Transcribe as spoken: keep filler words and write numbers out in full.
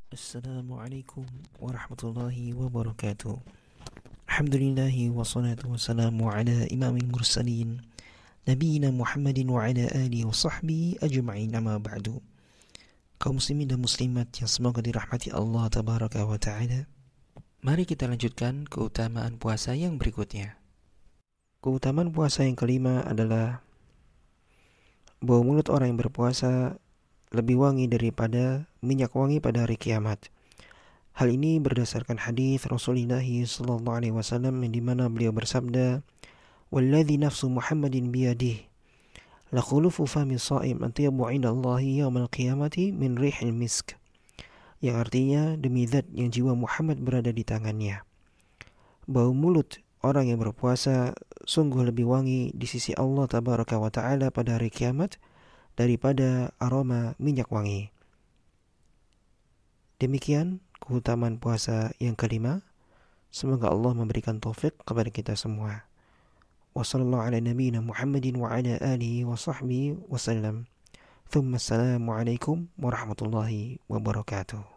Assalamualaikum warahmatullahi wabarakatuh. Alhamdulillahi wassalatu wassalamu ala imamil mursalin Nabiina Muhammadin wa ala alihi wa sahbihi ajma'in, amma ba'du. Kaum muslimin dan muslimat yang semoga dirahmati Allah tabaraka wa ta'ala, mari kita lanjutkan keutamaan puasa yang berikutnya. Keutamaan puasa yang kelima adalah bau mulut orang yang berpuasa lebih wangi daripada minyak wangi pada hari kiamat. Hal ini berdasarkan hadis Rasulullah sallallahu alaihi wasallam yang dimana beliau bersabda, "Walladzi nafsu Muhammadin biyadihi, la khulufu fami sha'im atyabu 'inda Allahi yaumal qiyamati min rihil misk." Yang artinya, demi zat yang jiwa Muhammad berada di tangannya, bau mulut orang yang berpuasa sungguh lebih wangi di sisi Allah tabaraka wa ta'ala pada hari kiamat daripada aroma minyak wangi. Demikian keutamaan puasa yang kelima. Semoga Allah memberikan taufik kepada kita semua. Wassallallahu ala nabiyyina Muhammadin wa ala alihi wa sahbihi wasallam. Thumma assalamu alaikum warahmatullahi wabarakatuh.